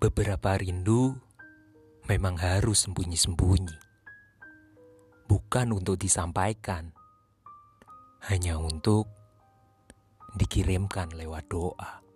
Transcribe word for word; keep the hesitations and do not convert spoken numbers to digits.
Beberapa rindu memang harus sembunyi-sembunyi. Bukan untuk disampaikan, hanya untuk dikirimkan lewat doa.